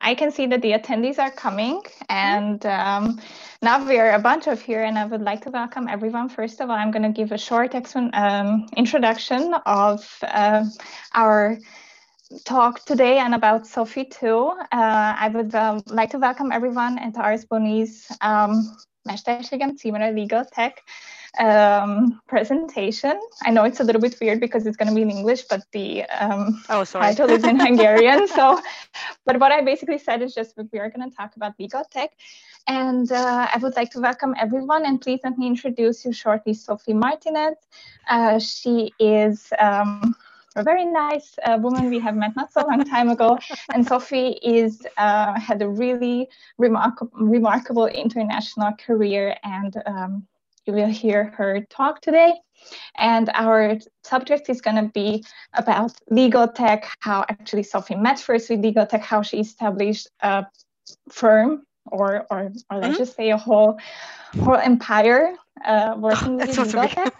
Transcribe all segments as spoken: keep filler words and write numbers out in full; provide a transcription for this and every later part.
I can see that the attendees are coming, and um, now we are a bunch of here, and I would like to welcome everyone. First of all, I'm going to give a short um, introduction of uh, our talk today and about Sophie too. Uh, I would uh, like to welcome everyone at Ars Boni's um, Mesterségem címere Legal Tech um, presentation. I know it's a little bit weird because it's going to be in English, but the um, oh, sorry. title is in Hungarian. So, but what I basically said is just that we are going to talk about legal tech. And uh, I would like to welcome everyone, and please let me introduce you shortly, Sophie Martinez. Uh, she is um, a very nice uh, woman we have met not so long time ago, and Sophie is uh, had a really remarkable, remarkable international career, and um, you will hear her talk today. And our subject is going to be about legal tech, how actually Sophie met first with legal tech, how she established a firm, or or, or let's mm-hmm. just say a whole whole empire uh, working with legal tech.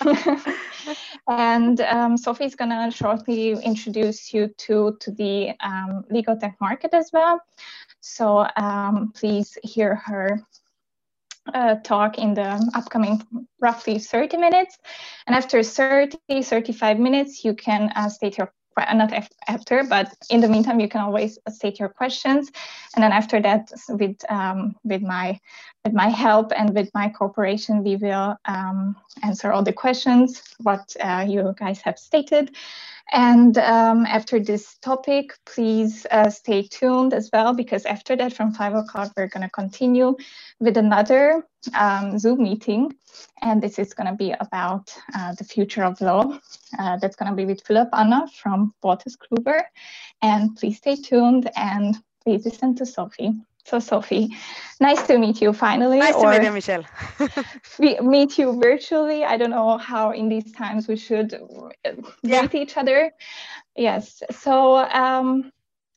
And um, Sophie is going to shortly introduce you to, to the um, legal tech market as well. So um, please hear her uh, talk in the upcoming roughly thirty minutes. And after thirty, thirty-five minutes, you can uh, state your not after, but in the meantime, you can always state your questions. And then after that, with um, with my with my help and with my cooperation, we will um, answer all the questions what uh, you guys have stated. And um, after this topic, please uh, stay tuned as well, because after that, from five o'clock, we're going to continue with another um, Zoom meeting. And this is going to be about uh, the future of law. Uh, that's going to be with Philip Anna from Wolters Kluwer. And please stay tuned and please listen to Sophie. So Sophie, nice to meet you finally. Nice or to meet you, Michelle. we meet you virtually. I don't know how in these times we should yeah. greet each other. Yes. So um,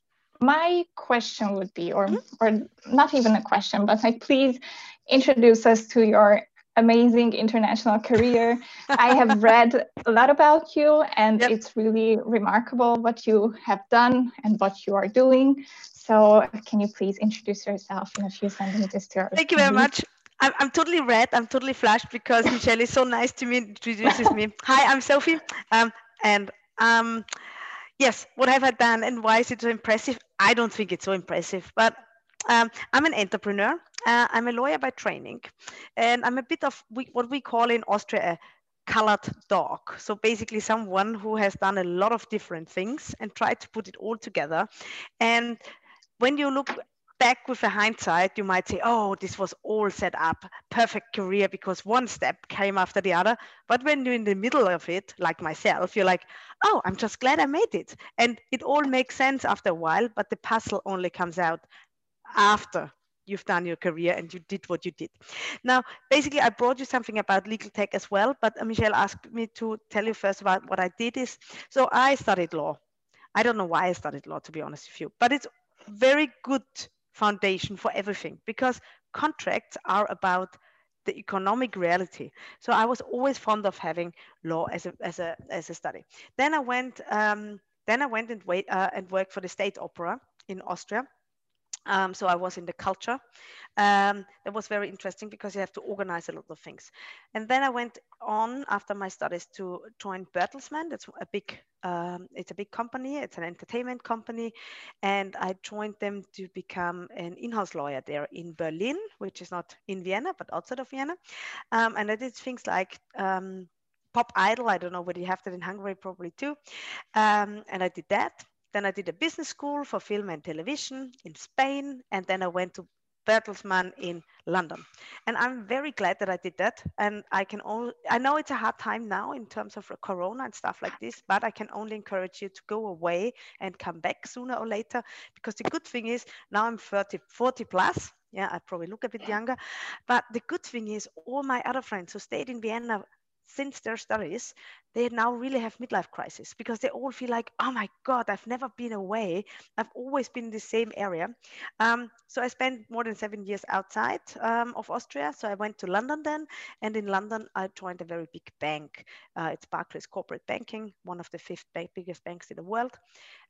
my question would be, or mm-hmm. or not even a question, but like, please introduce us to your amazing international career. I have read a lot about you, and yep. it's really remarkable what you have done and what you are doing. So can you please introduce yourself in a few sentences to our Thank you very much. I'm, I'm totally red. I'm totally flushed because Michelle is so nice to me, introduces me. Hi, I'm Sophie. Um, and um, yes, what have I done and why is it so impressive? I don't think it's so impressive, but um, I'm an entrepreneur. Uh, I'm a lawyer by training, and I'm a bit of we, what we call in Austria a colored dog. So basically someone who has done a lot of different things and tried to put it all together. And when you look back with a hindsight, you might say, oh, this was all set up, perfect career, because one step came after the other. But when you're in the middle of it, like myself, you're like, oh, I'm just glad I made it. And it all makes sense after a while, but the puzzle only comes out after you've done your career and you did what you did. Now, basically, I brought you something about legal tech as well, but Michelle asked me to tell you first about what I did is, so I studied law. I don't know why I studied law, to be honest with you, but it's very good foundation for everything, because contracts are about the economic reality. So I was always fond of having law as a as a as a study. Then I went um, then I went and wait uh, and worked for the State Opera in Austria. Um, so I was in the culture. Um, that was very interesting because you have to organize a lot of things. And then I went on after my studies to join Bertelsmann. That's a big, um, it's a big company. It's an entertainment company. And I joined them to become an in-house lawyer there in Berlin, which is not in Vienna, but outside of Vienna. Um, and I did things like um, Pop Idol. I don't know whether you have that in Hungary, probably too. Um, and I did that. Then I did a business school for film and television in Spain. And then I went to Bertelsmann in London. And I'm very glad that I did that. And I can only, I know it's a hard time now in terms of Corona and stuff like this, but I can only encourage you to go away and come back sooner or later. Because the good thing is now I'm thirty, forty plus. Yeah, I probably look a bit younger. But the good thing is all my other friends who stayed in Vienna since their studies, they now really have midlife crisis because they all feel like, oh my God, I've never been away. I've always been in the same area. Um, so I spent more than seven years outside um, of Austria. So I went to London then. And in London, I joined a very big bank. Uh, it's Barclays Corporate Banking, one of the fifth bank, biggest banks in the world.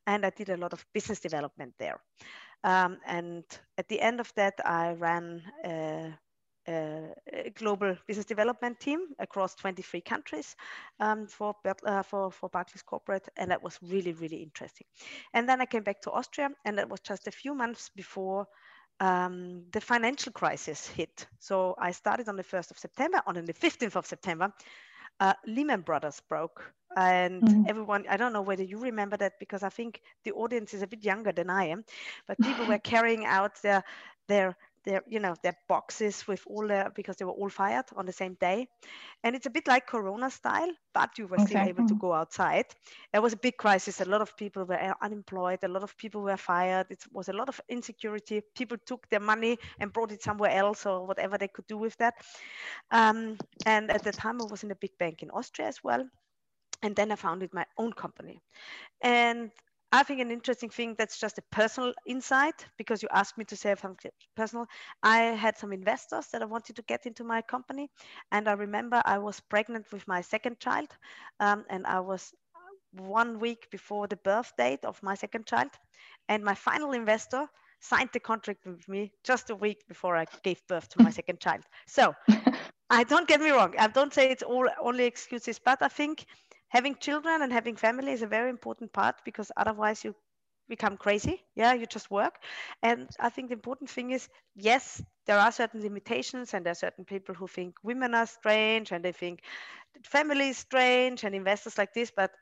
and I did a lot of business development there. Um, and at the end of that, I ran a, a, a global business development team across twenty-three countries um, for, uh, for, for Barclays Corporate. And that was really, really interesting. And then I came back to Austria, and that was just a few months before um, the financial crisis hit. So I started on the first of September. On the fifteenth of September, uh, Lehman Brothers broke. And mm-hmm. everyone, I don't know whether you remember that, because I think the audience is a bit younger than I am, but people were carrying out their, their, their, you know, their boxes with all their, because they were all fired on the same day. And it's a bit like Corona style, but you were okay. still able to go outside. It was a big crisis. A lot of people were unemployed. A lot of people were fired. It was a lot of insecurity. People took their money and brought it somewhere else or whatever they could do with that. Um, and at the time I was in a big bank in Austria as well. And then I founded my own company. And I think an interesting thing, that's just a personal insight, because you asked me to say something personal. I had some investors that I wanted to get into my company. And I remember I was pregnant with my second child. Um, and I was one week before the birth date of my second child. And my final investor signed the contract with me just a week before I gave birth to my second child. So I don't get me wrong. I don't say it's all only excuses, but I think having children and having family is a very important part, because otherwise you become crazy. Yeah, you just work. And I think the important thing is, yes, there are certain limitations, and there are certain people who think women are strange, and they think family is strange, and investors like this. But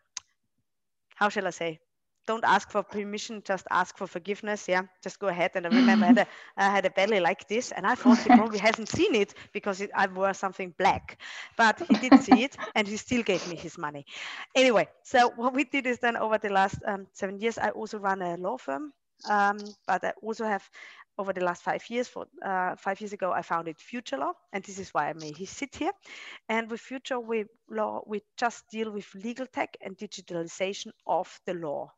how shall I say? Don't ask for permission, just ask for forgiveness. Yeah, just go ahead. And I remember I had a, I had a belly like this, and I thought he probably hasn't seen it because it, I wore something black, but he did see it, and he still gave me his money. Anyway, so what we did is then over the last um, seven years, I also run a law firm, um, but I also have over the last five years, for uh, five years ago, I founded Future Law, and this is why I may sit here. And with Future we Law, we just deal with legal tech and digitalization of the law.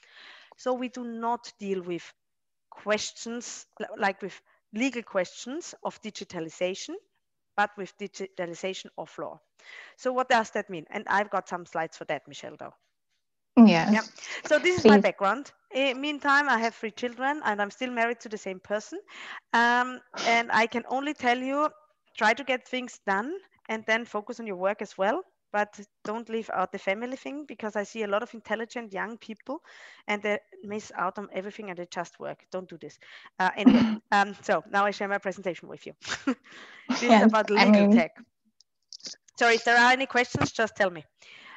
So we do not deal with questions like with legal questions of digitalization, but with digitalization of law. So what does that mean? And I've got some slides for that, Michelle, though. Yes. Yeah. So this is Please. my background. In meantime, I have three children, and I'm still married to the same person. Um, and I can only tell you, try to get things done and then focus on your work as well. But don't leave out the family thing, because I see a lot of intelligent young people and they miss out on everything and they just work. Don't do this. Uh, anyway, um, so now I share my presentation with you. This yes, is about legal I mean... tech. Sorry, if there are any questions, just tell me.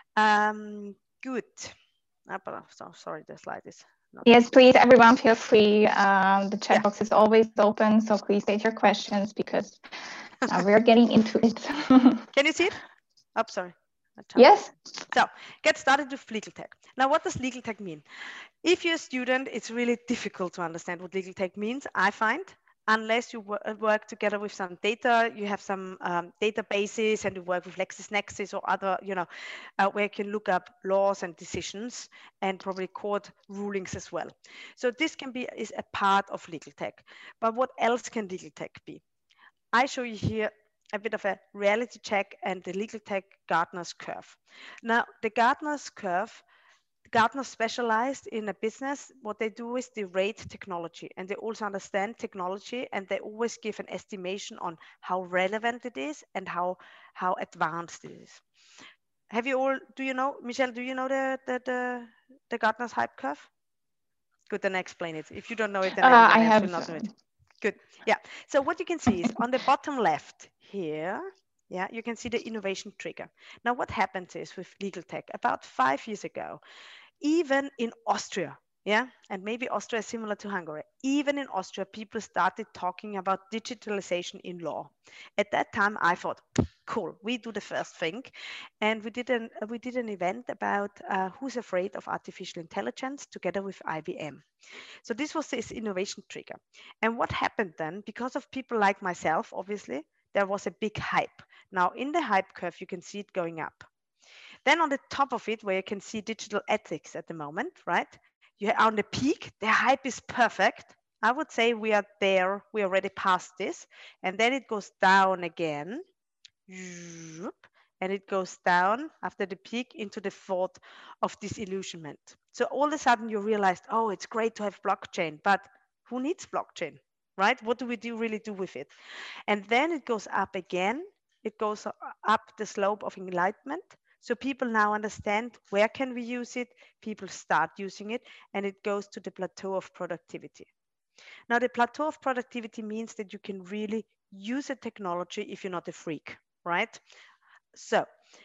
Um, good. Oh, so sorry, the slide is not yes, please, everyone feel free. Um, the chat yeah. box is always open, so please state your questions, because now we're getting into it. Can you see it? Oh, sorry. Yes. So get started with legal tech. Now, what does legal tech mean? If you're a student, it's really difficult to understand what legal tech means, I find, unless you work together with some data, you have some um, databases, and you work with LexisNexis or other, you know, uh, where you can look up laws and decisions and probably court rulings as well. So this can be is a part of legal tech. But what else can legal tech be? I show you here a bit of a reality check and the legal tech Gartner's curve. Now, the Gartner's curve, Gartner specialized in a business. What they do is they rate technology, and they also understand technology, and they always give an estimation on how relevant it is and how, how advanced it is. Have you all, do you know, Michelle, do you know the, the, the, the Gartner's hype curve? Good, then I explain it. If you don't know it, then uh, I have will not know it. Good. Yeah. So what you can see is on the bottom left here, yeah, you can see the innovation trigger. Now, what happens is with legal tech, about five years ago, even in Austria, yeah, and maybe Austria is similar to Hungary, even in Austria, people started talking about digitalization in law. At that time, I thought, cool, we do the first thing. And we did an, we did an event about uh, who's afraid of artificial intelligence together with I B M. So this was this innovation trigger. And what happened then, because of people like myself, obviously, there was a big hype. Now in the hype curve, you can see it going up. Then on the top of it, where you can see digital ethics at the moment, right? You are on the peak, the hype is perfect. I would say we are there, we are already past this. And then it goes down again. and it goes down after the peak into the thought of disillusionment. So all of a sudden you realized, oh, it's great to have blockchain, but who needs blockchain, right? What do we do really do with it? And then it goes up again. It goes up the slope of enlightenment. So people now understand where can we use it. People start using it, and it goes to the plateau of productivity. Now, the plateau of productivity means that you can really use a technology if you're not a freak, right? So,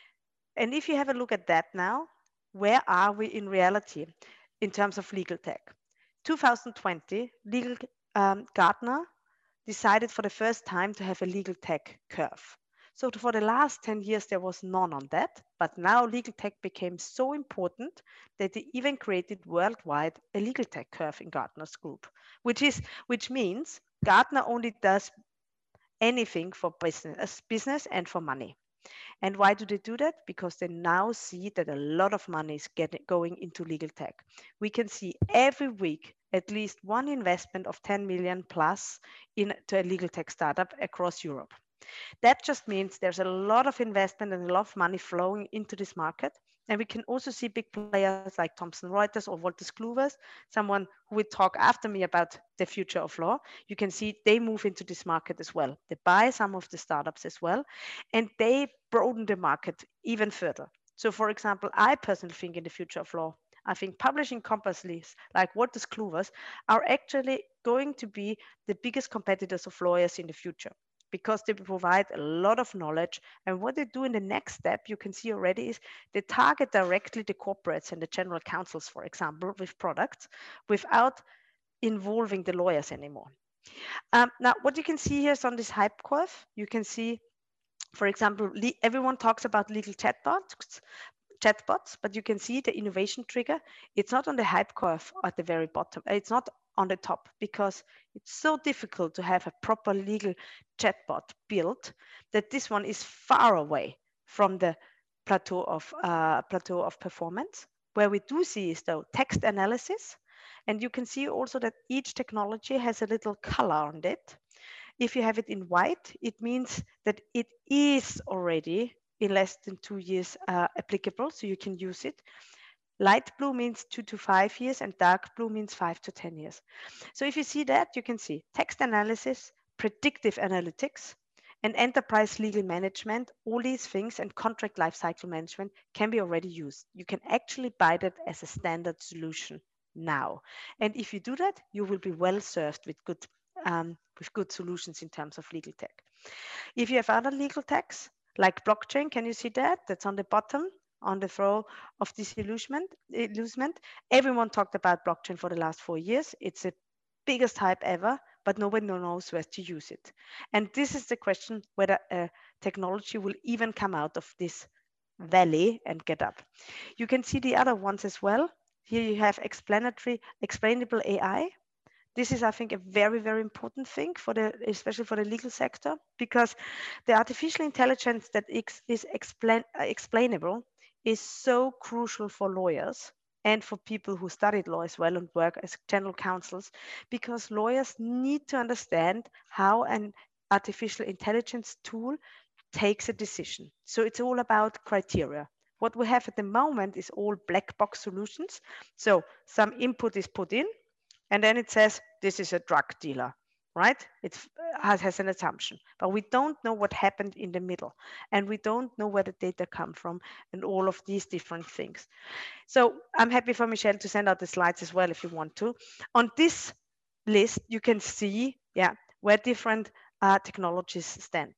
and if you have a look at that now, where are we in reality in terms of legal tech? two thousand twenty, legal um, Gartner decided for the first time to have a legal tech curve. So for the last ten years, there was none on that, but now legal tech became so important that they even created worldwide a legal tech curve in Gartner's group, which is which means Gartner only does anything for business, business and for money. And why do they do that? Because they now see that a lot of money is getting, going into legal tech. We can see every week at least one investment of ten million plus into a legal tech startup across Europe. That just means there's a lot of investment and a lot of money flowing into this market. And we can also see big players like Thomson Reuters or Wolters Kluwer, someone who will talk after me about the future of law. You can see they move into this market as well. They buy some of the startups as well, and they broaden the market even further. So for example, I personally think in the future of law, I think publishing companies like Wolters Kluwer are actually going to be the biggest competitors of lawyers in the future, because they provide a lot of knowledge. And what they do in the next step, you can see already, is they target directly the corporates and the general counsels, for example, with products without involving the lawyers anymore. Um, now, what you can see here is on this hype curve, you can see, for example, everyone talks about legal chatbots, chatbots, but you can see the innovation trigger. It's not on the hype curve at the very bottom. It's not on the top, because it's so difficult to have a proper legal chatbot built that this one is far away from the plateau of uh, plateau of performance. Where we do see is though text analysis, and you can see also that each technology has a little color on it. If you have it in white, it means that it is already in less than two years uh, applicable, so you can use it. Light blue means two to five years, and dark blue means five to ten years. So if you see that, you can see text analysis, predictive analytics, and enterprise legal management. All these things and contract lifecycle management can be already used. You can actually buy that as a standard solution now. And if you do that, you will be well served with good, um, with good solutions in terms of legal tech. If you have other legal techs, like blockchain, can you see that? That's on the bottom, on the throw of disillusionment. Illusionment. Everyone talked about blockchain for the last four years. It's the biggest hype ever, but nobody knows where to use it. And this is the question, whether a technology will even come out of this valley and get up. You can see the other ones as well. Here you have explanatory, explainable A I. This is, I think, a very, very important thing for the, especially for the legal sector, because the artificial intelligence that is explain, uh, explainable is so crucial for lawyers and for people who studied law as well and work as general counsels, because lawyers need to understand how an artificial intelligence tool takes a decision. So it's all about criteria. What we have at the moment is all black box solutions. So some input is put in, and then it says, this is a drug dealer, right? It has, has an assumption, but we don't know what happened in the middle. And we don't know where the data come from and all of these different things. So I'm happy for Michelle to send out the slides as well, if you want to. On this list, you can see, yeah, where different uh, technologies stand.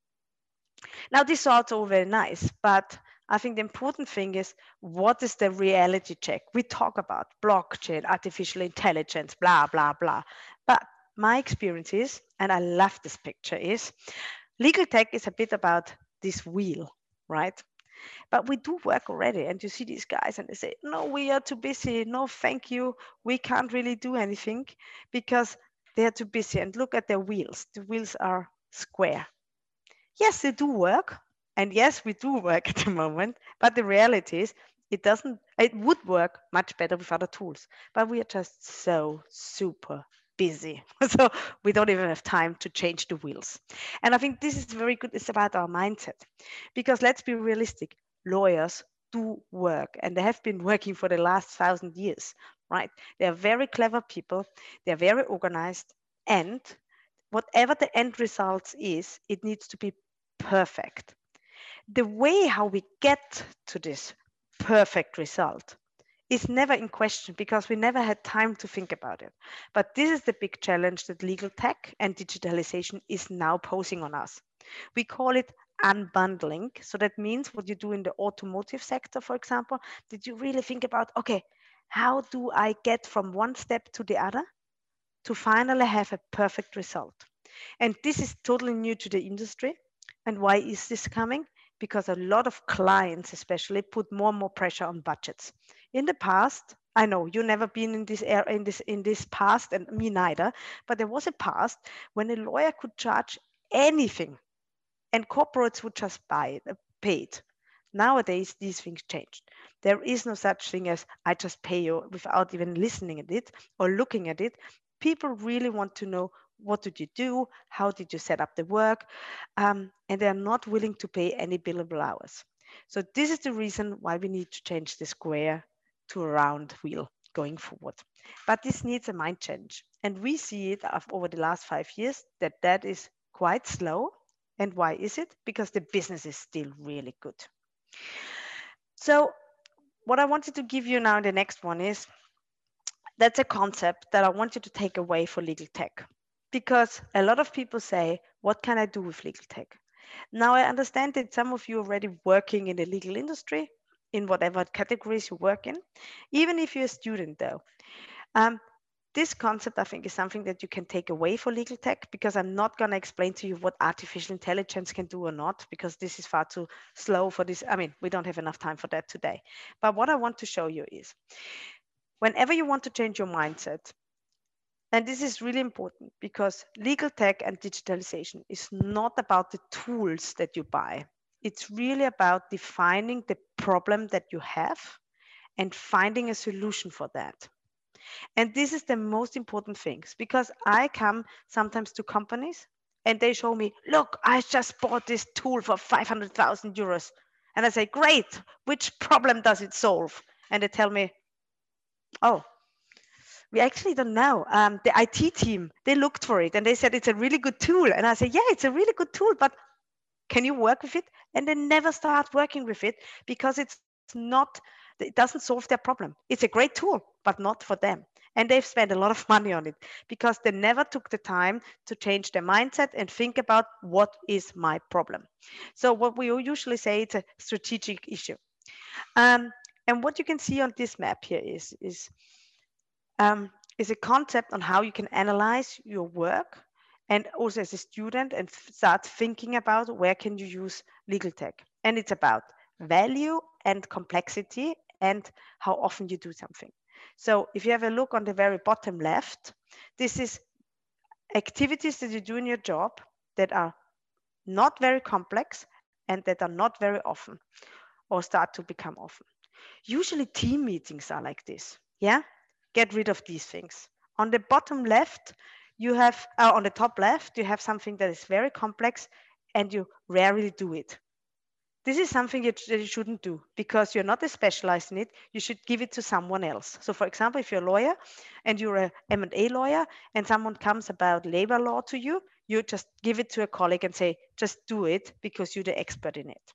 Now, this is also very nice, but I think the important thing is, what is the reality check? We talk about blockchain, artificial intelligence, blah, blah, blah. But my experience is, and I love this picture, is legal tech is a bit about this wheel, right? But we do work already, and you see these guys and they say, no, we are too busy. No, thank you. We can't really do anything because they are too busy. And look at their wheels. The wheels are square. Yes, they do work. And yes, we do work at the moment. But the reality is it doesn't, it would work much better with other tools. But we are just so super busy. So we don't even have time to change the wheels. And I think this is very good. It's about our mindset, because let's be realistic. Lawyers do work, and they have been working for the last thousand years, right? They are very clever people. They're very organized, and whatever the end result is, it needs to be perfect. The way how we get to this perfect result is never in question, because we never had time to think about it. But this is the big challenge that legal tech and digitalization is now posing on us. We call it unbundling. So that means what you do in the automotive sector, for example, did you really think about, okay, how do I get from one step to the other to finally have a perfect result? And this is totally new to the industry. And why is this coming? Because a lot of clients especially put more and more pressure on budgets. In the past, I know you never been in this era, in this in this past, and me neither, but there was a past when a lawyer could charge anything and corporates would just buy it, pay it. Nowadays, these things changed. There is no such thing as I just pay you without even listening at it or looking at it. People really want to know, what did you do? How did you set up the work? Um, and they're not willing to pay any billable hours. So this is the reason why we need to change the square to a round wheel going forward. But this needs a mind change. And we see it over the last five years that that is quite slow. And why is it? Because the business is still really good. So what I wanted to give you now in the next one is, that's a concept that I want you to take away for legal tech. Because a lot of people say, what can I do with legal tech? Now I understand that some of you are already working in the legal industry, in whatever categories you work in. Even if you're a student though, um, this concept I think is something that you can take away for legal tech, because I'm not going to explain to you what artificial intelligence can do or not, because this is far too slow for this. I mean, we don't have enough time for that today. But what I want to show you is, whenever you want to change your mindset, and this is really important, because legal tech and digitalization is not about the tools that you buy. It's really about defining the problem that you have and finding a solution for that. And this is the most important things, because I come sometimes to companies and they show me, look, I just bought this tool for five hundred thousand euros. And I say, great, which problem does it solve? And they tell me, oh, we actually don't know. Um, the I T team, they looked for it and they said it's a really good tool. And I say, yeah, it's a really good tool, but can you work with it? And they never start working with it, because it's not, it doesn't solve their problem. It's a great tool, but not for them. And they've spent a lot of money on it because they never took the time to change their mindset and think about, what is my problem? So what we usually say, it's a strategic issue. Um, and what you can see on this map here is, is, um, is a concept on how you can analyze your work, and also as a student, and start thinking about where can you use legal tech. And it's about value and complexity and how often you do something. So if you have a look on the very bottom left, this is activities that you do in your job that are not very complex and that are not very often, or start to become often. Usually team meetings are like this. Yeah, get rid of these things. On the bottom left, you have, uh, on the top left, you have something that is very complex and you rarely do it. This is something that you shouldn't do, because you're not a specialized in it. You should give it to someone else. So for example, if you're a lawyer and you're a M and A lawyer and someone comes about labor law to you, you just give it to a colleague and say, just do it because you're the expert in it.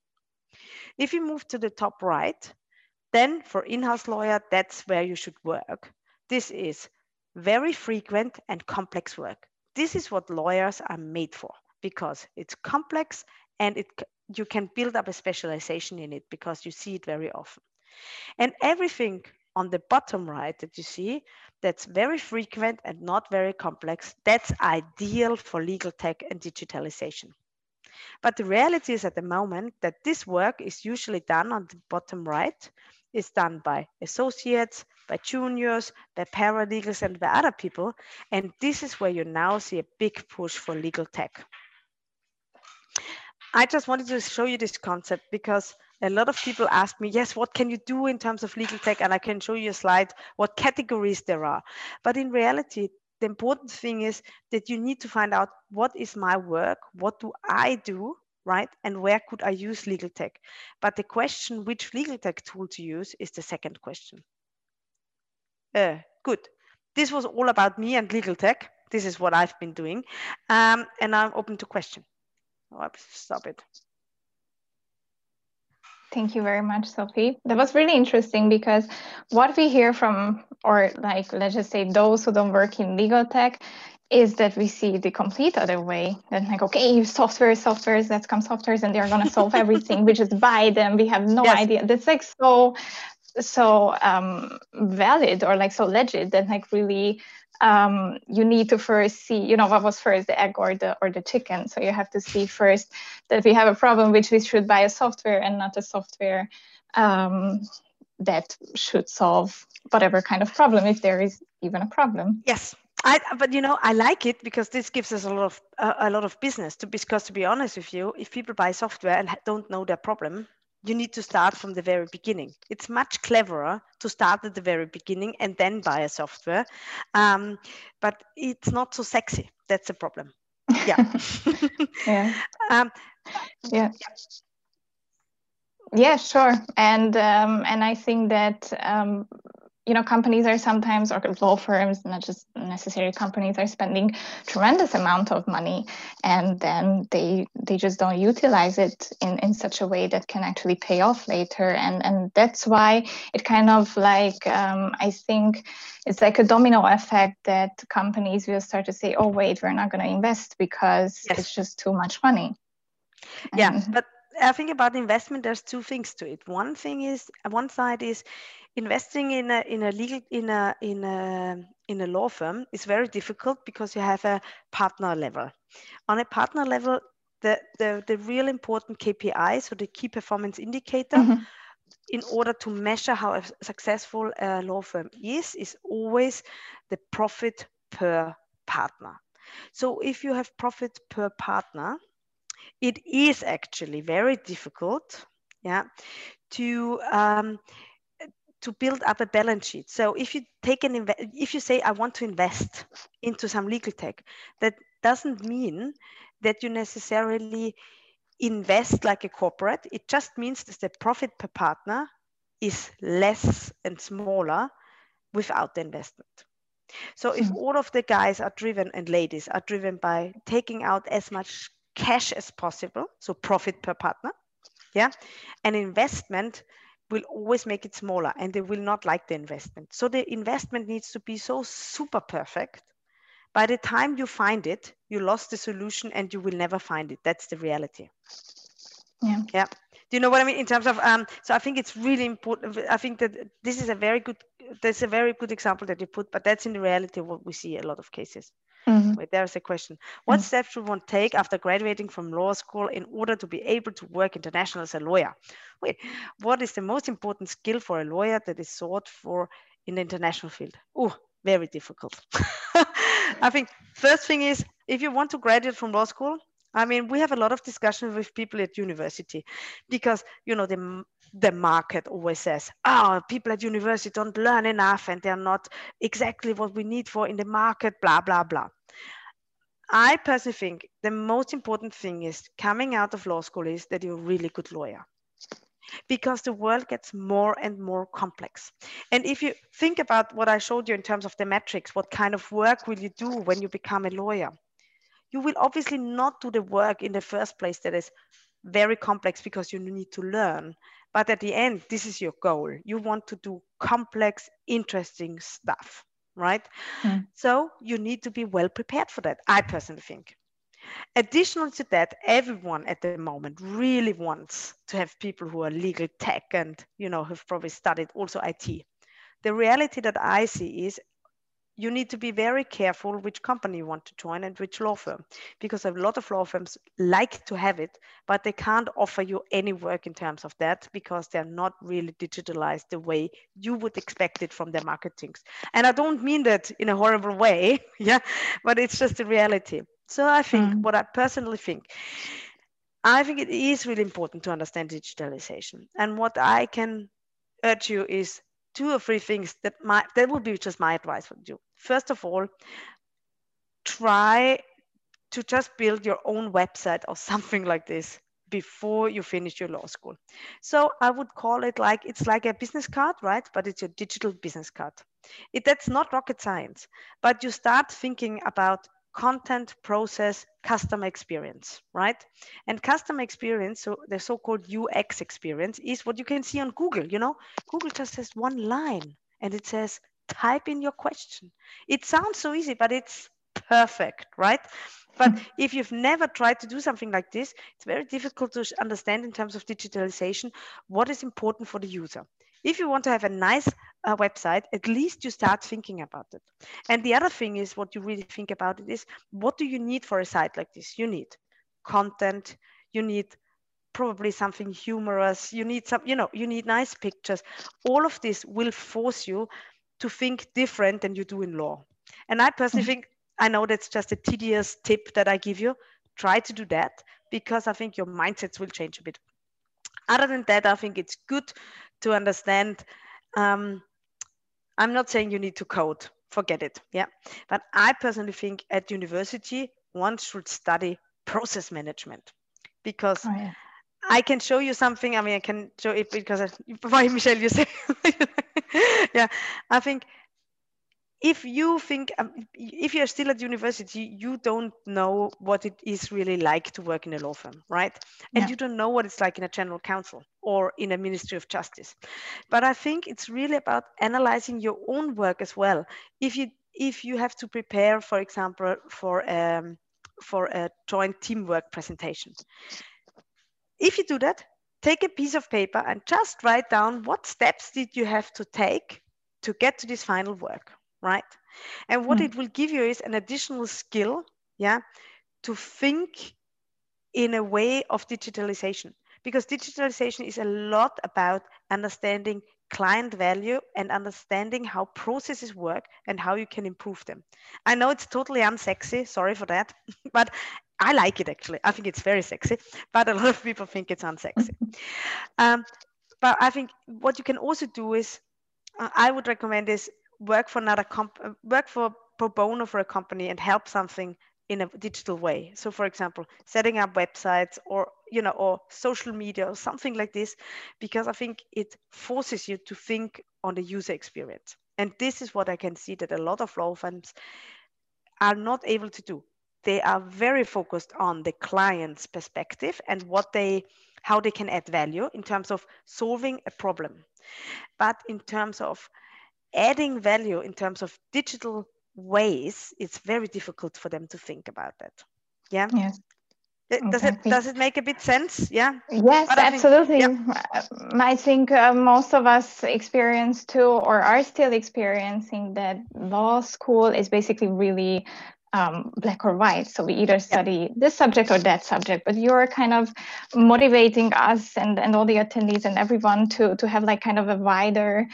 If you move to the top right, then for in-house lawyer, that's where you should work. This is very frequent and complex work. This is what lawyers are made for, because it's complex and it, you can build up a specialization in it because you see it very often. And everything on the bottom right that you see, that's very frequent and not very complex, that's ideal for legal tech and digitalization. But the reality is at the moment that this work is usually done on the bottom right, is done by associates, by juniors, by paralegals, and by other people. And this is where you now see a big push for legal tech. I just wanted to show you this concept because a lot of people ask me, yes, what can you do in terms of legal tech? And I can show you a slide, what categories there are. But in reality, the important thing is that you need to find out what is my work, what do I do, right? And where could I use legal tech? But the question which legal tech tool to use is the second question. Uh, good. This was all about me and legal tech. This is what I've been doing. Um, and I'm open to question. Oh, stop it. Thank you very much, Sophie. That was really interesting because what we hear from, or like, let's just say those who don't work in legal tech, is that we see the complete other way. That like, okay, software, softwares, let's come softwares and they're going to solve everything. We just buy them. We have no yes. idea. That's like so, so um, valid or like so legit that like really um, you need to first see, you know, what was first, the egg or the or the chicken. So you have to see first that we have a problem which we should buy a software and not a software um, that should solve whatever kind of problem, if there is even a problem. Yes. I, but you know, I like it because this gives us a lot of uh, a lot of business. To because to be honest with you, if people buy software and don't know their problem, you need to start from the very beginning. It's much cleverer to start at the very beginning and then buy a software, um, but it's not so sexy. That's the problem. Yeah. yeah. Um, yeah. Yeah, sure. And um, and I think that um, you know, companies are sometimes, or law firms, not just necessarily companies, are spending tremendous amount of money, and then they they just don't utilize it in, in such a way that can actually pay off later. And and that's why it kind of like, um, I think it's like a domino effect that companies will start to say, oh, wait, we're not going to invest because yes. it's just too much money. Yeah, and, but I think about investment, there's two things to it. One thing is, one side is investing in a in a legal in a in a in a law firm is very difficult because you have a partner level. On a partner level, the the, the real important K P I, so the key performance indicator, mm-hmm. in order to measure how a successful uh, law firm is, is always the profit per partner. So if you have profit per partner, it is actually very difficult, yeah, to um, to build up a balance sheet. So if you take an inve- if you say I want to invest into some legal tech, that doesn't mean that you necessarily invest like a corporate. It just means that the profit per partner is less and smaller without the investment. So if mm. all of the guys are driven and ladies are driven by taking out as much cash as possible, so profit per partner, yeah, an investment will always make it smaller and they will not like the investment. So the investment needs to be so super perfect. By the time you find it, you lost the solution and you will never find it. That's the reality. Yeah. Yeah. Do you know what I mean in terms of, um, so I think it's really important. I think that this is a very good, that's a very good example that you put, but that's in the reality of what we see a lot of cases. Mm-hmm. Wait, there's a question. What mm-hmm. steps should one take after graduating from law school in order to be able to work international as a lawyer? Wait, what is the most important skill for a lawyer that is sought for in the international field? Oh, very difficult. I think first thing is, if you want to graduate from law school, I mean, we have a lot of discussions with people at university because, you know, the, the market always says, oh, people at university don't learn enough and they're not exactly what we need for in the market, blah, blah, blah. I personally think the most important thing is coming out of law school is that you're a really good lawyer, because the world gets more and more complex. And if you think about what I showed you in terms of the metrics, what kind of work will you do when you become a lawyer? You will obviously not do the work in the first place that is very complex because you need to learn. But at the end, this is your goal. You want to do complex, interesting stuff, right? Mm. So you need to be well prepared for that, I personally think. Additional to that, everyone at the moment really wants to have people who are legal tech and, you know, have probably studied also I T. The reality that I see is you need to be very careful which company you want to join and which law firm, because a lot of law firms like to have it, but they can't offer you any work in terms of that because they're not really digitalized the way you would expect it from their marketings. And I don't mean that in a horrible way, yeah, but it's just the reality. So I think mm. what I personally think, I think it is really important to understand digitalization. And what I can urge you is two or three things that might, that would be just my advice for you. First of all, try to just build your own website or something like this before you finish your law school. So I would call it like, it's like a business card, right? But it's a digital business card. It, that's not rocket science, but you start thinking about content, process, customer experience, right? And customer experience, so the so-called U X experience, is what you can see on Google. You know, Google just has one line and it says, type in your question. It sounds so easy, but it's perfect, right? But if you've never tried to do something like this, it's very difficult to understand in terms of digitalization what is important for the user. If you want to have a nice uh, website, at least you start thinking about it. And the other thing is, what you really think about it is, what do you need for a site like this? You need content, you need probably something humorous, you need some, you know, you need nice pictures. All of this will force you to think different than you do in law. And I personally think, I know that's just a tedious tip that I give you. Try to do that, because I think your mindsets will change a bit. Other than that, I think it's good to understand. Um, I'm not saying you need to code, forget it. Yeah. But I personally think at university, one should study process management, because Oh, yeah. I can show you something. I mean, I can show it because, I, why, Michelle, you say, yeah, I think if you think, um, if you're still at university, you don't know what it is really like to work in a law firm, right? And Yeah. you don't know what it's like in a general counsel or in a Ministry of Justice. But I think it's really about analyzing your own work as well. If you if you have to prepare, for example, for um, for a joint teamwork presentation, if you do that, take a piece of paper and just write down what steps did you have to take to get to this final work, right? And what Mm. it will give you is an additional skill, yeah, to think in a way of digitalization, because digitalization is a lot about understanding client value and understanding how processes work and how you can improve them. I know it's totally unsexy, sorry for that, but I like it actually. I think it's very sexy, but a lot of people think it's unsexy. Um, but I think what you can also do is, uh, I would recommend is work for another comp, uh, work for pro bono for a company and help something in a digital way. So, for example, setting up websites, or you know, or social media or something like this, because I think it forces you to think on the user experience. And this is what I can see that a lot of law firms are not able to do. They are very focused on the client's perspective and what they, how they can add value in terms of solving a problem. But in terms of adding value in terms of digital ways, it's very difficult for them to think about that. Yeah. Yes. Does it Exactly. does it make a bit sense? Yeah. Yes, But I think, absolutely. yeah. I think uh, most of us experience too, or are still experiencing, that law school is basically really um, black or white. So we either study this subject or that subject, but you're kind of motivating us and, and all the attendees and everyone to, to have like kind of a wider,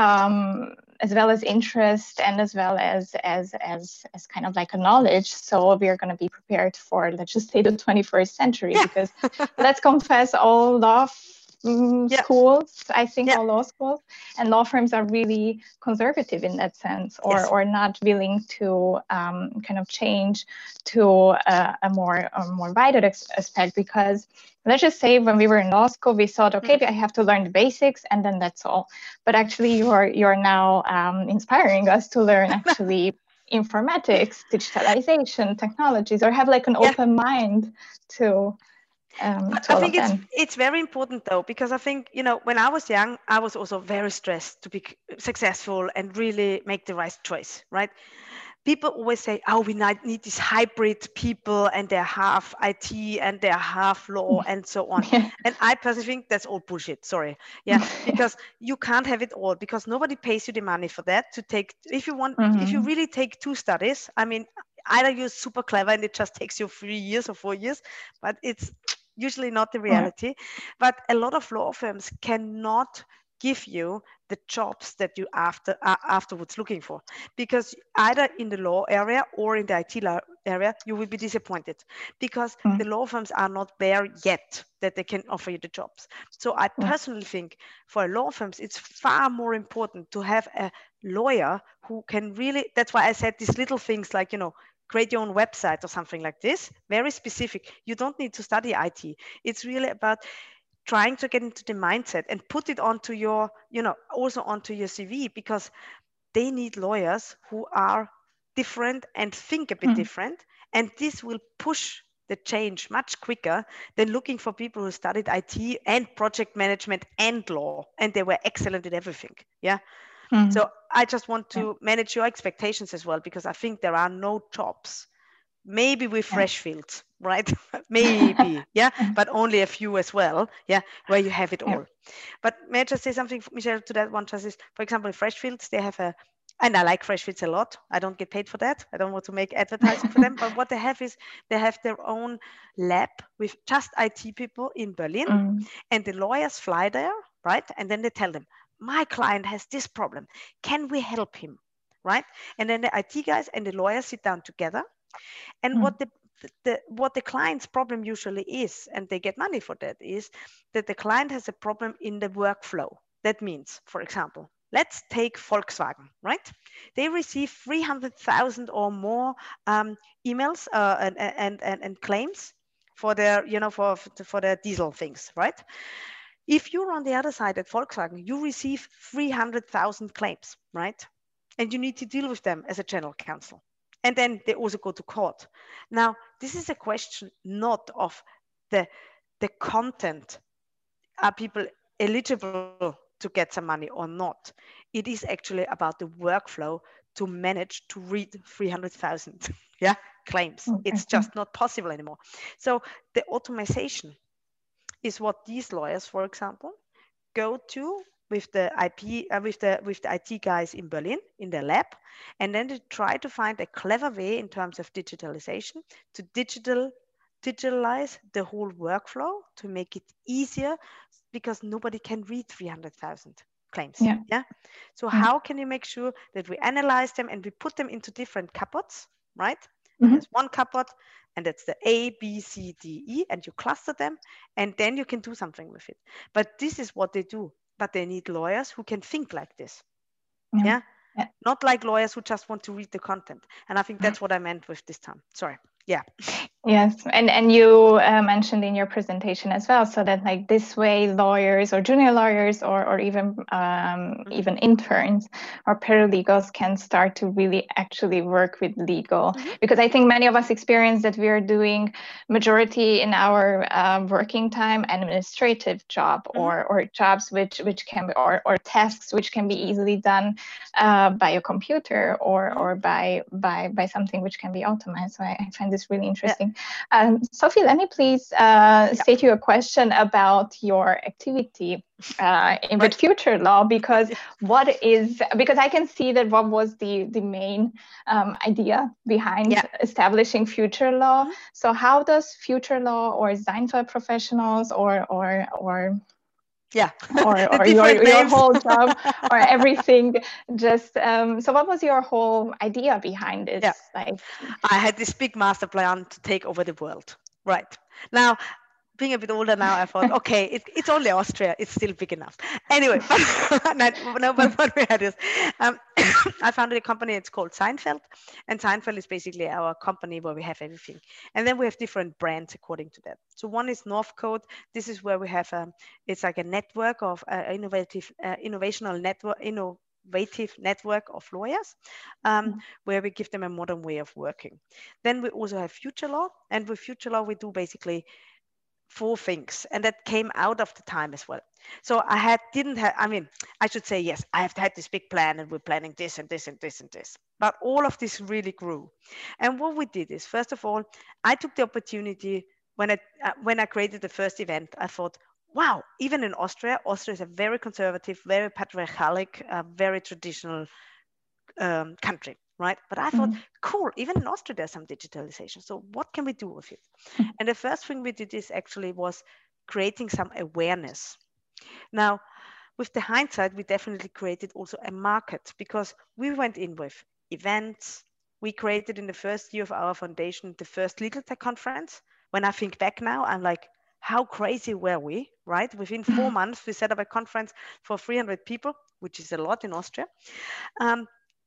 um, as well as interest and as well as, as, as, as kind of like a knowledge. So we're going to be prepared for, let's just say, the twenty-first century, Yeah. because let's confess, all law um, Yeah. schools, I think Yeah. all law schools and law firms are really conservative in that sense, or, Yes. or not willing to um, kind of change to a, a more a more wider aspect. Because let's just say when we were in law school, we thought, okay, mm. I have to learn the basics and then that's all. But actually, you're you're now um, inspiring us to learn actually informatics, digitalization, technologies, or have like an yeah. open mind to. Um, but to I all think of it's them. it's very important though, because I think, you know, when I was young, I was also very stressed to be successful and really make the right choice, right? People always say, oh, we need these hybrid people and they're half I T and they're half law and so on. Yeah. And I personally think that's all bullshit. Sorry. Yeah. Because you can't have it all, because nobody pays you the money for that to take. If you want, mm-hmm. if you really take two studies, I mean, either you're super clever and it just takes you three years or four years, but it's usually not the reality. Yeah. But a lot of law firms cannot give you the jobs that you after uh, afterwards looking for, because either in the law area or in the I T area you will be disappointed, because mm. the law firms are not there yet that they can offer you the jobs. So I personally think for law firms it's far more important to have a lawyer who can really, that's why I said these little things like, you know, create your own website or something like this, very specific. You don't need to study I T. It's really about trying to get into the mindset and put it onto your, you know, also onto your C V, because they need lawyers who are different and think a bit mm. different. And this will push the change much quicker than looking for people who studied I T and project management and law, and they were excellent in everything. Yeah. Mm. So I just want to yeah. manage your expectations as well, because I think there are no jobs, maybe with yeah. Freshfields, right? Maybe, yeah, but only a few as well, yeah, where you have it all. Yeah. But may I just say something, Michelle, to that one? Just is, for example, in Freshfields, they have a, and I like Freshfields a lot. I don't get paid for that. I don't want to make advertising for them. But what they have is they have their own lab with just I T people in Berlin, mm. and the lawyers fly there, right? And then they tell them, my client has this problem. Can we help him, right? And then the I T guys and the lawyers sit down together. And mm. what the, the what the client's problem usually is, and they get money for that, is that the client has a problem in the workflow. That means, for example, let's take Volkswagen, right? They receive three hundred thousand or more um, emails uh, and, and, and, and claims for their, you know, for, for their diesel things, right? If you're on the other side at Volkswagen, you receive three hundred thousand claims, right? And you need to deal with them as a general counsel. And then they also go to court. Now, this is a question not of the, the content. Are people eligible to get some money or not? It is actually about the workflow to manage to read three hundred thousand yeah, claims. Okay. It's just not possible anymore. So the automation is what these lawyers, for example, go to with the I P, uh, with the with the I T guys in Berlin in their lab, and then they try to find a clever way in terms of digitalization to digital digitalize the whole workflow to make it easier, because nobody can read three hundred thousand claims. Yeah. yeah. So yeah. how can you make sure that we analyze them and we put them into different cupboards, right? Mm-hmm. There's one cupboard, and that's the A, B, C, D, E, and you cluster them, and then you can do something with it. But this is what they do. But they need lawyers who can think like this. Yeah. yeah? yeah. Not like lawyers who just want to read the content. And I think that's what I meant with this term. Sorry. Yeah. Yes, and and you uh, mentioned in your presentation as well, so that like this way lawyers or junior lawyers or or even um, mm-hmm. even interns or paralegals can start to really actually work with legal. Mm-hmm. Because I think many of us experience that we are doing majority in our um, working time administrative job mm-hmm. or or jobs which which can be or or tasks which can be easily done uh, by a computer or mm-hmm. or by by by something which can be automated. So I, I find this really interesting. Yeah. Um, Sophie, let me please uh, yeah. state you a question about your activity uh, in right. with future law, because yeah. what is, because I can see that what was the, the main um, idea behind yeah. establishing future law. Mm-hmm. So how does future law or Seinfeld professionals or, or, or yeah or, or your, your whole job or everything just um so what was your whole idea behind it? Yeah. Like I had this big master plan to take over the world. Right now, being a bit older now, I thought, okay, it, it's only Austria, it's still big enough. Anyway, but, no, but what we had is, um, I founded a company, it's called Seinfeld, and Seinfeld is basically our company where we have everything. And then we have different brands according to that. So one is Northcote. This is where we have, um, it's like a network of uh, innovative, uh, innovational network, innovative network of lawyers, um, mm-hmm. where we give them a modern way of working. Then we also have Future Law, and with Future Law, we do basically four things, and that came out of the time as well. So I had didn't have, I mean, I should say, yes, I have had this big plan and we're planning this and this and this and this, but all of this really grew. And what we did is, first of all, I took the opportunity when I, uh, when I created the first event, I thought, wow, even in Austria, Austria is a very conservative, very patriarchal, uh, very traditional um, country. Right. But I thought, mm-hmm. cool, even in Austria, there's some digitalization. So what can we do with it? Mm-hmm. And the first thing we did is actually was creating some awareness. Now, with the hindsight, we definitely created also a market, because we went in with events. We created in the first year of our foundation, the first Legal Tech conference. When I think back now, I'm like, how crazy were we, right? Within four months, we set up a conference for three hundred people, which is a lot in Austria. Um,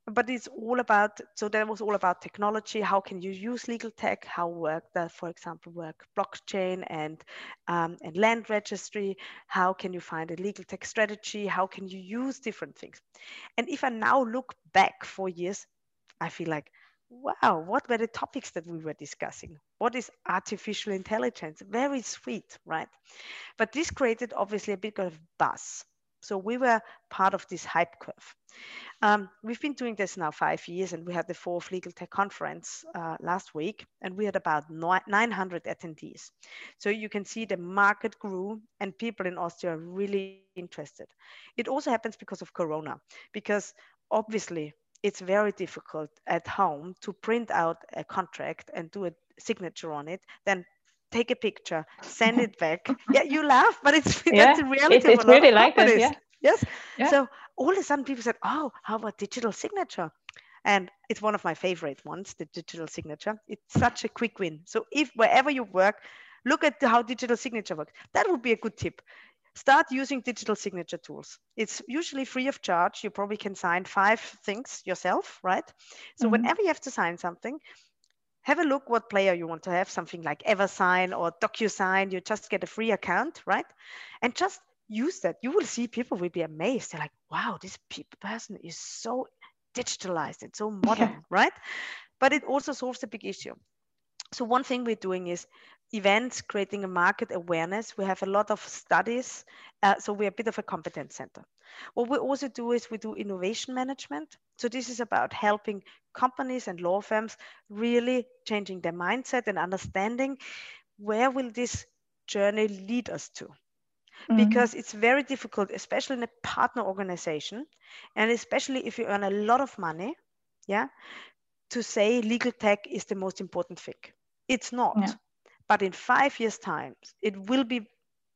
but it's all about, so that was all about technology. How can you use legal tech? How work that, for example, work blockchain and um, and land registry? How can you find a legal tech strategy? How can you use different things? And if I now look back four years, I feel like, wow, what were the topics that we were discussing? What is artificial intelligence? Very sweet, right? But this created obviously a bit of buzz. So we were part of this hype curve. Um, we've been doing this now five years, and we had the fourth Legal Tech Conference uh, last week, and we had about nine hundred attendees. So you can see the market grew, and people in Austria are really interested. It also happens because of Corona, because obviously it's very difficult at home to print out a contract and do a signature on it, then take a picture, send it back. Yeah, you laugh, but it's Yeah, that's the reality it's, of it's a lot really of like this. companies. Yeah. Yes. Yeah. So all of a sudden people said, oh, how about digital signature? And it's one of my favorite ones, the digital signature. It's such a quick win. So if wherever you work, look at how digital signature works. That would be a good tip. Start using digital signature tools. It's usually free of charge. You probably can sign five things yourself, right? So Mhm. whenever you have to sign something, have a look what player you want to have, something like EverSign or DocuSign. You just get a free account, right? And just use that. You will see people will be amazed. They're like, wow, this person is so digitalized. It's so modern, Yeah. right? But it also solves a big issue. So one thing we're doing is events, creating a market awareness. We have a lot of studies. Uh, so we're a bit of a competence center. What we also do is we do innovation management. So this is about helping companies and law firms really changing their mindset and understanding where will this journey lead us to. Mhm. Because it's very difficult, especially in a partner organization, and especially if you earn a lot of money, yeah, to say legal tech is the most important thing. It's not. Yeah. But in five years' time, it will be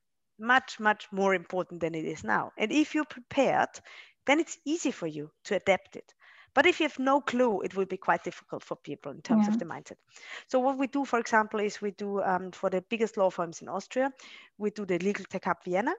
much, much more important than it is now. And if you're prepared, then it's easy for you to adapt it. But if you have no clue, it will be quite difficult for people in terms Yeah. of the mindset. So what we do, for example, is we do um, for the biggest law firms in Austria, we do the Legal Tech Hub Vienna.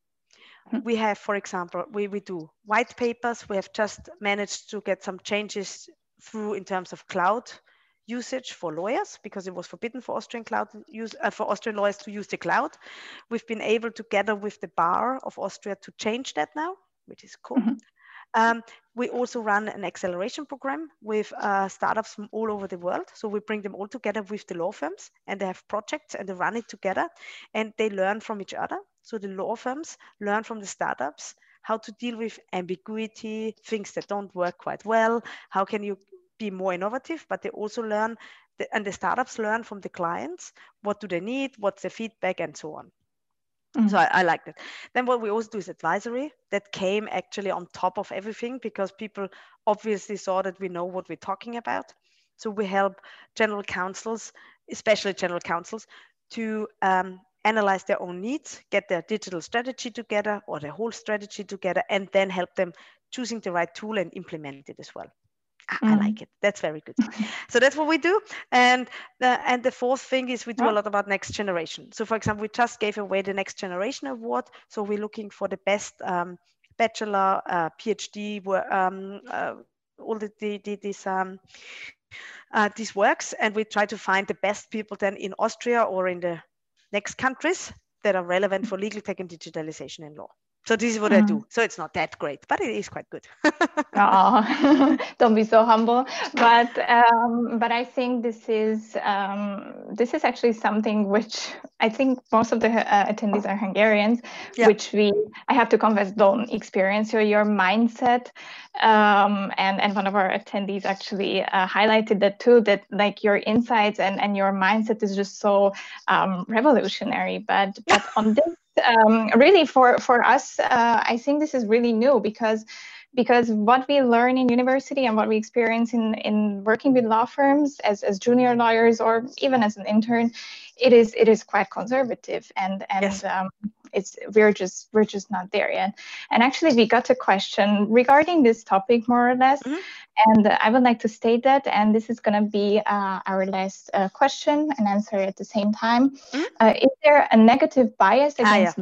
Mhm. We have, for example, we, we do white papers. We have just managed to get some changes through in terms of cloud usage for lawyers, because it was forbidden for Austrian cloud use uh, for Austrian lawyers to use the cloud. We've been able together with the Bar of Austria to change that now, which is cool. Mhm. Um, we also run an acceleration program with uh, startups from all over the world. So we bring them all together with the law firms, and they have projects and they run it together, and they learn from each other. So the law firms learn from the startups how to deal with ambiguity, things that don't work quite well. How can you be more innovative? But they also learn, the, and the startups learn from the clients. What do they need? What's the feedback, and so on. Mhm. So I, I like that. Then what we also do is advisory. That came actually on top of everything, because people obviously saw that we know what we're talking about. So we help general counsels, especially general counsels, to um, analyze their own needs, get their digital strategy together or their whole strategy together, and then help them choosing the right tool and implement it as well. I, I Mhm. like it. That's very good. So that's what we do. And the, and the fourth thing is we do a Oh. lot about next generation. So for example, we just gave away the Next Generation Award. So we're looking for the best um, bachelor, uh, PhD, um, uh, all the, the, the these um, uh, these works, and we try to find the best people then in Austria or in the next countries that are relevant for legal tech and digitalization in law. So this is what I Mhm. do. So it's not that great, but it is quite good. Oh, don't be so humble. But um, but I think this is um, this is actually something which I think most of the uh, attendees are Hungarians, Yeah. which we I have to confess don't experience. So your mindset, um, and and one of our attendees actually uh, highlighted that too. That like your insights and and your mindset is just so um, revolutionary. But but on this. Um, really, for for us, uh, I think this is really new because because what we learn in university and what we experience in in working with law firms as as junior lawyers or even as an intern, it is it is quite conservative, and and Yes. um, it's we're just we're just not there yet. And actually, we got a question regarding this topic more or less. Mm-hmm. And I would like to state that, and this is going to be uh, our last uh, question and answer at the same time. Mm-hmm. Uh, is there a negative bias Ah, yeah. against law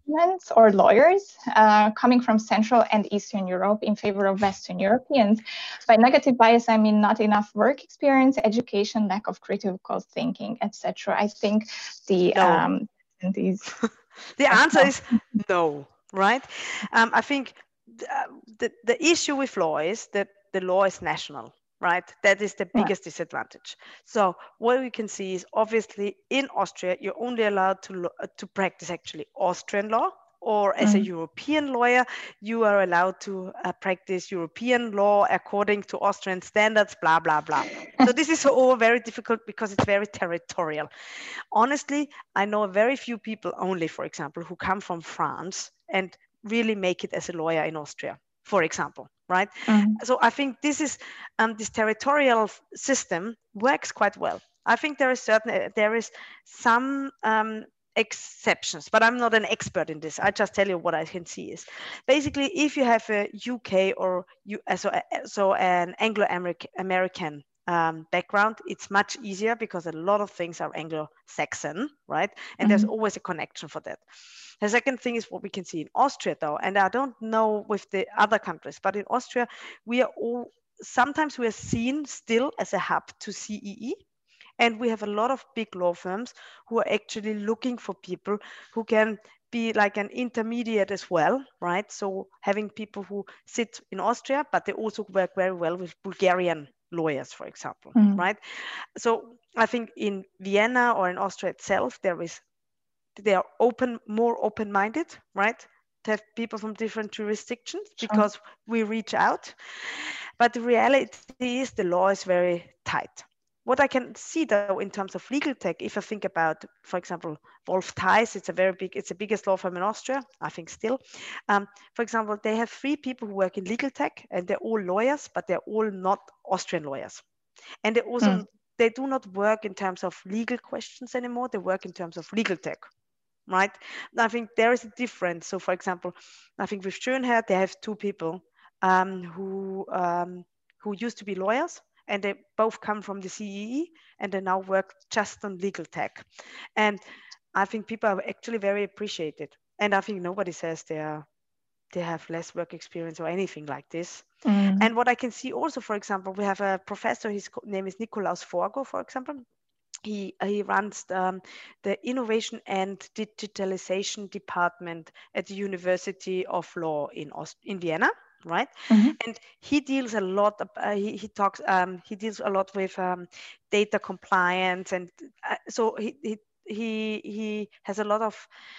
documents or lawyers uh, coming from Central and Eastern Europe in favor of Western Europeans. By negative bias, I mean not enough work experience, education, lack of critical thinking, et cetera. I think the No. um, these the answer is no, right? Um, I think the, the, the issue with law is that the law is national, right? That is the biggest yeah. disadvantage. So what we can see is obviously in Austria, you're only allowed to, to practice actually Austrian law, or as mm. a European lawyer, you are allowed to uh, practice European law according to Austrian standards, blah, blah, blah. So this is all very difficult because it's very territorial. Honestly, I know very few people only, for example, who come from France and really make it as a lawyer in Austria, for example, right? Mm. So I think this is um, this territorial system works quite well. I think there is certain there is some um, exceptions, but I'm not an expert in this. I just tell you what I can see is basically if you have a U K or you so so an Anglo-American Um, background, it's much easier because a lot of things are Anglo-Saxon, right? And mm-hmm. there's always a connection for that. The second thing is what we can see in Austria, though, and I don't know with the other countries, but in Austria, we are all, sometimes we are seen still as a hub to C E E, and we have a lot of big law firms who are actually looking for people who can be like an intermediate as well, right? So having people who sit in Austria, but they also work very well with Bulgarian lawyers, for example, mm. right? So I think in Vienna or in Austria itself, there is, they are open, more open-minded, right? To have people from different jurisdictions sure. because we reach out. But the reality is the law is very tight. What I can see though in terms of legal tech, if I think about, for example, Wolf Theis, it's a very big, it's the biggest law firm in Austria, I think still. Um, for example, they have three people who work in legal tech and they're all lawyers, but they're all not Austrian lawyers. And they also, mm. they do not work in terms of legal questions anymore, they work in terms of legal tech, right? I think there is a difference. So for example, I think with Schönherr, they have two people um, who, um, who used to be lawyers, and they both come from the C E E and they now work just on legal tech. And I think people are actually very appreciated. And I think nobody says they are, they have less work experience or anything like this. Mm. And what I can see also, for example, we have a professor, his name is Nikolaus Forgo, for example. He, he runs the, the Innovation and Digitalization Department at the University of Law in, Aust in Vienna. Right, mm-hmm. and he deals a lot. Uh, he, he talks. Um, he deals a lot with um, data compliance, and uh, so he, he he he has a lot of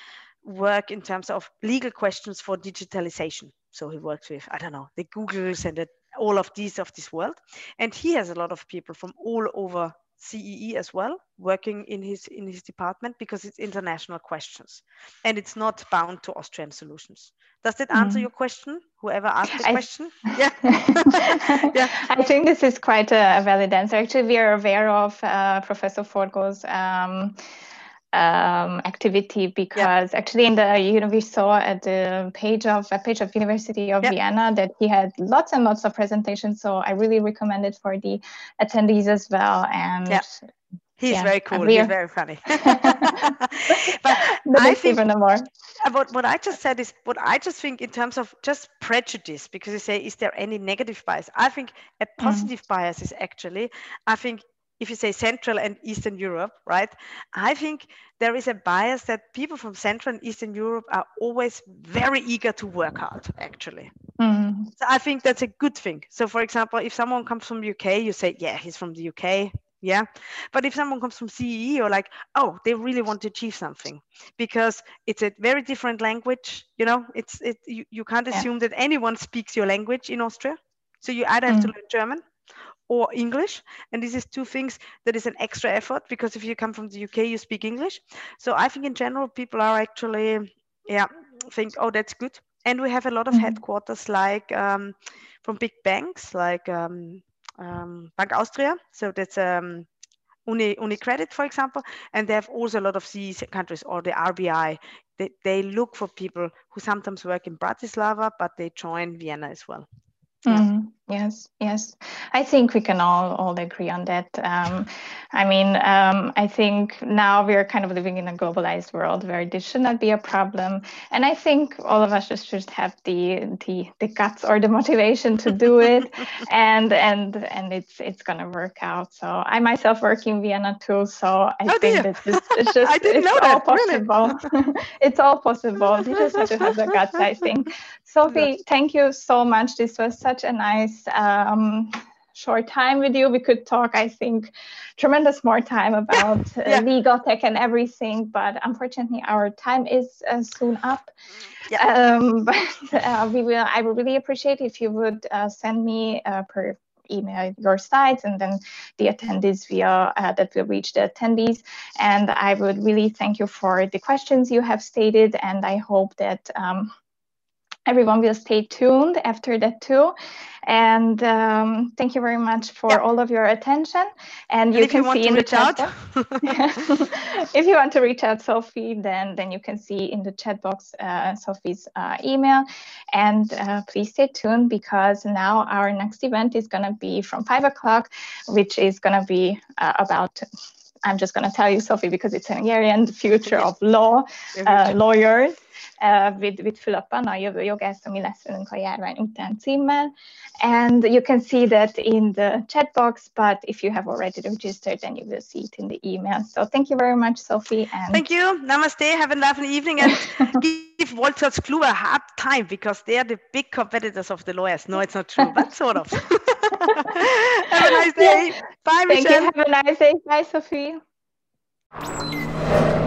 work in terms of legal questions for digitalization. So he works with I don't know the Googles and the, all of these of this world, and he has a lot of people from all over C E E as well working in his in his department because it's international questions and it's not bound to Austrian solutions. Does that answer mm. your question? Whoever asked the I, question? Yeah. yeah. I think this is quite a valid answer. Actually, we are aware of uh, Professor Forgo's um, um, activity because yeah. actually in the you know we saw at the page of a page of University of yeah. Vienna that he had lots and lots of presentations. So I really recommend it for the attendees as well. And yeah. He's yeah, very cool. He's very funny. But I think even more. About what I just said is what I just think in terms of just prejudice, because you say, is there any negative bias? I think a positive mm. bias is actually, I think if you say Central and Eastern Europe, right? I think there is a bias that people from Central and Eastern Europe are always very eager to work hard, actually. Mm. So I think that's a good thing. So for example, if someone comes from the U K, you say, yeah, he's from the U K. Yeah. But if someone comes from C E E, you're like, oh, they really want to achieve something because it's a very different language. You know, it's it you, you can't assume yeah. that anyone speaks your language in Austria. So you either have mm. to learn German or English. And this is two things that is an extra effort because if you come from the U K, you speak English. So I think in general, people are actually, yeah, think, oh, that's good. And we have a lot of mm. headquarters like um, from big banks like um, um, Bank Austria. So that's um, Uni, UniCredit, for example. And they have also a lot of C E E countries or the R B I. They, they look for people who sometimes work in Bratislava, but they join Vienna as well. Yeah. Mm. Yes, yes. I think we can all all agree on that. Um, I mean, um, I think now we're kind of living in a globalized world where this should not be a problem. And I think all of us just should have the the the guts or the motivation to do it, and and and it's it's gonna work out. So I myself work in Vienna too, so I Oh think dear. that it's, it's just I didn't it's know all that. Really? possible. It's all possible. You just have to have the guts, I think. Sophie, thank you so much. This was such a nice um, short time with you. We could talk, I think, tremendous more time about yeah, uh, yeah. legal tech and everything, but unfortunately our time is uh, soon up. Yeah. Um, but uh, we will. I would really appreciate if you would uh, send me uh, per email your slides, and then the attendees via uh, that will reach the attendees. And I would really thank you for the questions you have stated, and I hope that um, everyone will stay tuned after that too. And um, thank you very much for yeah. all of your attention. And, And you if can you want see to in the reach chat out, box, if you want to reach out Sophie, then, then you can see in the chat box uh, Sophie's uh, email. And uh, please stay tuned, because now our next event is going to be from five o'clock, which is going to be uh, about, I'm just going to tell you, Sophie, because it's Hungarian, the future yeah. of law, uh, lawyers. Uh, with, with Fülöpön, a jövő jogász, ami lesz velünk a járvány után címmel. And you can see that in the chat box, but if you have already registered, then you will see it in the email. So thank you very much, Sophie. And thank you. Namaste. Have a lovely evening, and give Wolters Kluwer a hard time, because they are the big competitors of the lawyers. No, it's not true, but sort of. Have a nice day. Yeah. Bye, Thank Michelle. you. Have a nice day. Bye, Sophie.